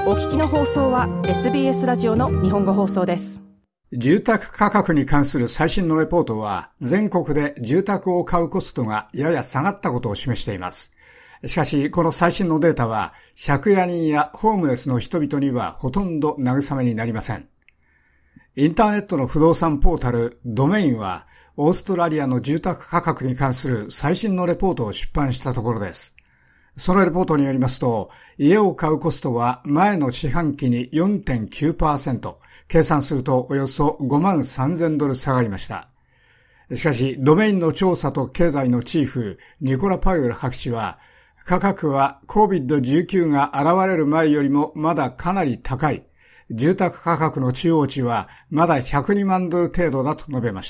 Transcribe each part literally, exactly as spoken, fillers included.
お聞きの放送は エスビーエス ラジオの日本語放送です。 住宅価格に関する最新のレポートは、全国で住宅を買うコストがやや下がったことを示しています。しかし、この最新のデータは、借家人やホームレスの人々にはほとんど慰めになりません。インターネットの不動産ポータルドメインは、オーストラリアの住宅価格に関する最新のレポートを出版したところです。そのレポートによりますと、家を買うコストは前の四半期に よんてんきゅうパーセント、計算するとおよそごまんさんぜんドル下がりました。しかし、ドメインの調査と経済のチーフ、ニコラ・パウエル博士は、価格は コービッドじゅうきゅう が現れる前よりもまだかなり高い。住宅価格の中央値はまだひゃくにまんドル程度だと述べました。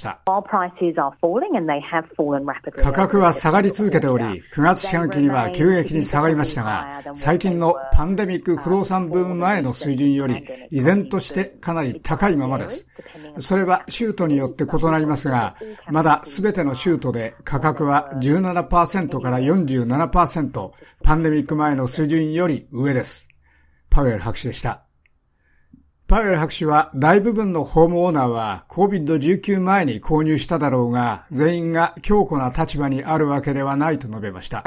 価格は下がり続けており、くがつ四半期には急激に下がりましたが、最近のパンデミック不動産ブーム前の水準より依然としてかなり高いままです。それは州都によって異なりますが、まだすべての州都で価格は じゅうななパーセント から よんじゅうななパーセント、パンデミック前の水準より上です。パウエル博士でした。パウエル博士は大部分のホームオーナーは コービッドじゅうきゅう 前に購入しただろうが、全員が強固な立場にあるわけではないと述べました。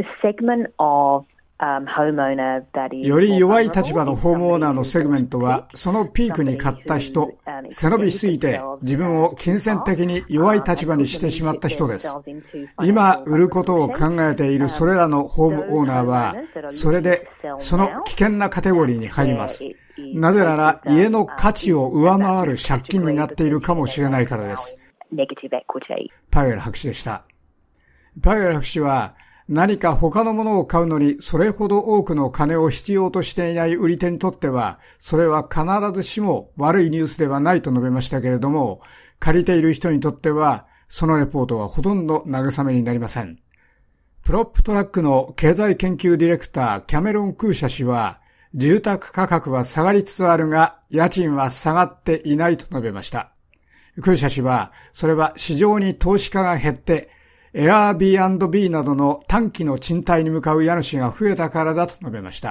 より弱い立場のホームオーナーのセグメントは、そのピークに買った人、背伸びしすぎて自分を金銭的に弱い立場にしてしまった人です。今売ることを考えているそれらのホームオーナーは、それでその危険なカテゴリーに入ります。なぜなら家の価値を上回る借金になっているかもしれないからです。パウエル博士でした。パウエル博士は、何か他のものを買うのにそれほど多くの金を必要としていない売り手にとっては、それは必ずしも悪いニュースではないと述べましたけれども、借りている人にとっては、そのレポートはほとんど慰めになりません。プロップトラックの経済研究ディレクターキャメロン・クーシャ氏は、住宅価格は下がりつつあるが、家賃は下がっていないと述べました。クーシャ氏は、それは市場に投資家が減って、Airbnb などの短期の賃貸に向かう家主が増えたからだと述べました。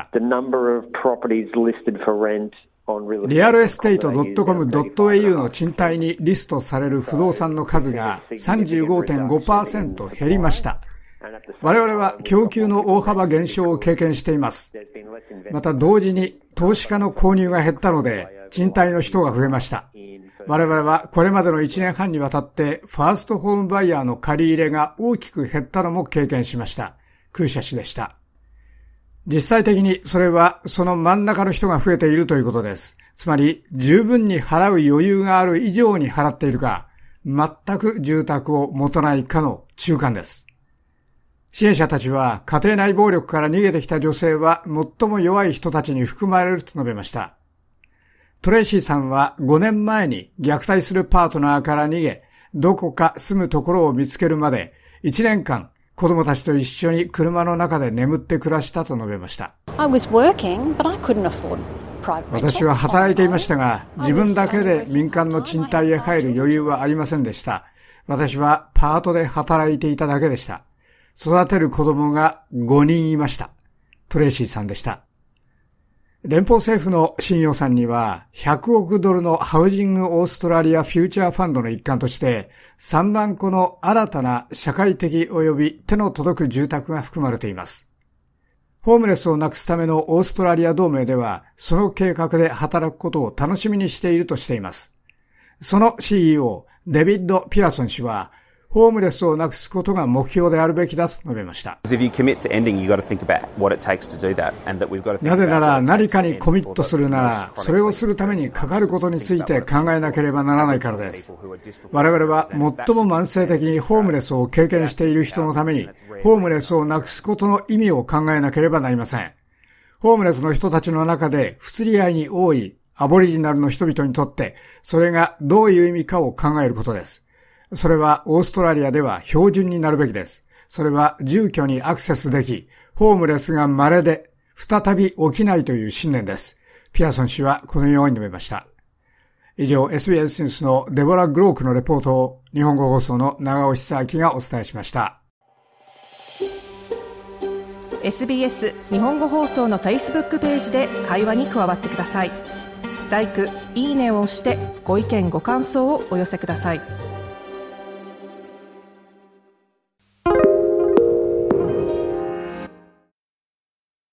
リアルエステイト ドットコム ドットエーユー の賃貸にリストされる不動産の数が さんじゅうごてんごパーセント 減りました。我々は供給の大幅減少を経験しています。また同時に投資家の購入が減ったので、賃貸の人が増えました。我々はこれまでのいちねんはんにわたってファーストホームバイヤーの借り入れが大きく減ったのも経験しました。クーシャ氏でした。実際的にそれはその真ん中の人が増えているということです。つまり十分に払う余裕がある以上に払っているか、全く住宅を持たないかの中間です。支援者たちは家庭内暴力から逃げてきた女性は最も弱い人たちに含まれると述べました。トレイシーさんはごねんまえに虐待するパートナーから逃げ、どこか住むところを見つけるまでいちねんかん子供たちと一緒に車の中で眠って暮らしたと述べました。私は働いていましたが、自分だけで民間の賃貸へ入る余裕はありませんでした。私はパートで働いていただけでした。育てる子供がごにんいました。トレイシーさんでした。連邦政府の新予算にはひゃくおくドルのハウジングオーストラリアフューチャーファンドの一環としてさんまんこの新たな社会的及び手の届く住宅が含まれています。ホームレスをなくすためのオーストラリア同盟ではその計画で働くことを楽しみにしているとしています。その シーイーオー デビッド・ピアソン氏はホームレスをなくすことが目標であるべきだと述べました。なぜなら何かにコミットするなら、それをするためにかかることについて考えなければならないからです。我々は最も慢性的にホームレスを経験している人のために、ホームレスをなくすことの意味を考えなければなりません。ホームレスの人たちの中で不釣り合いに多いアボリジナルの人々にとって、それがどういう意味かを考えることです。それはオーストラリアでは標準になるべきです。それは住居にアクセスでき、ホームレスが稀で再び起きないという信念です。ピアソン氏はこのように述べました。以上 エスビーエス ニュースのデボラ・グロークのレポートを日本語放送の長尾久明がお伝えしました。 エスビーエス 日本語放送の Facebook ページで会話に加わってください。ライク、いいねを押してご意見ご感想をお寄せください。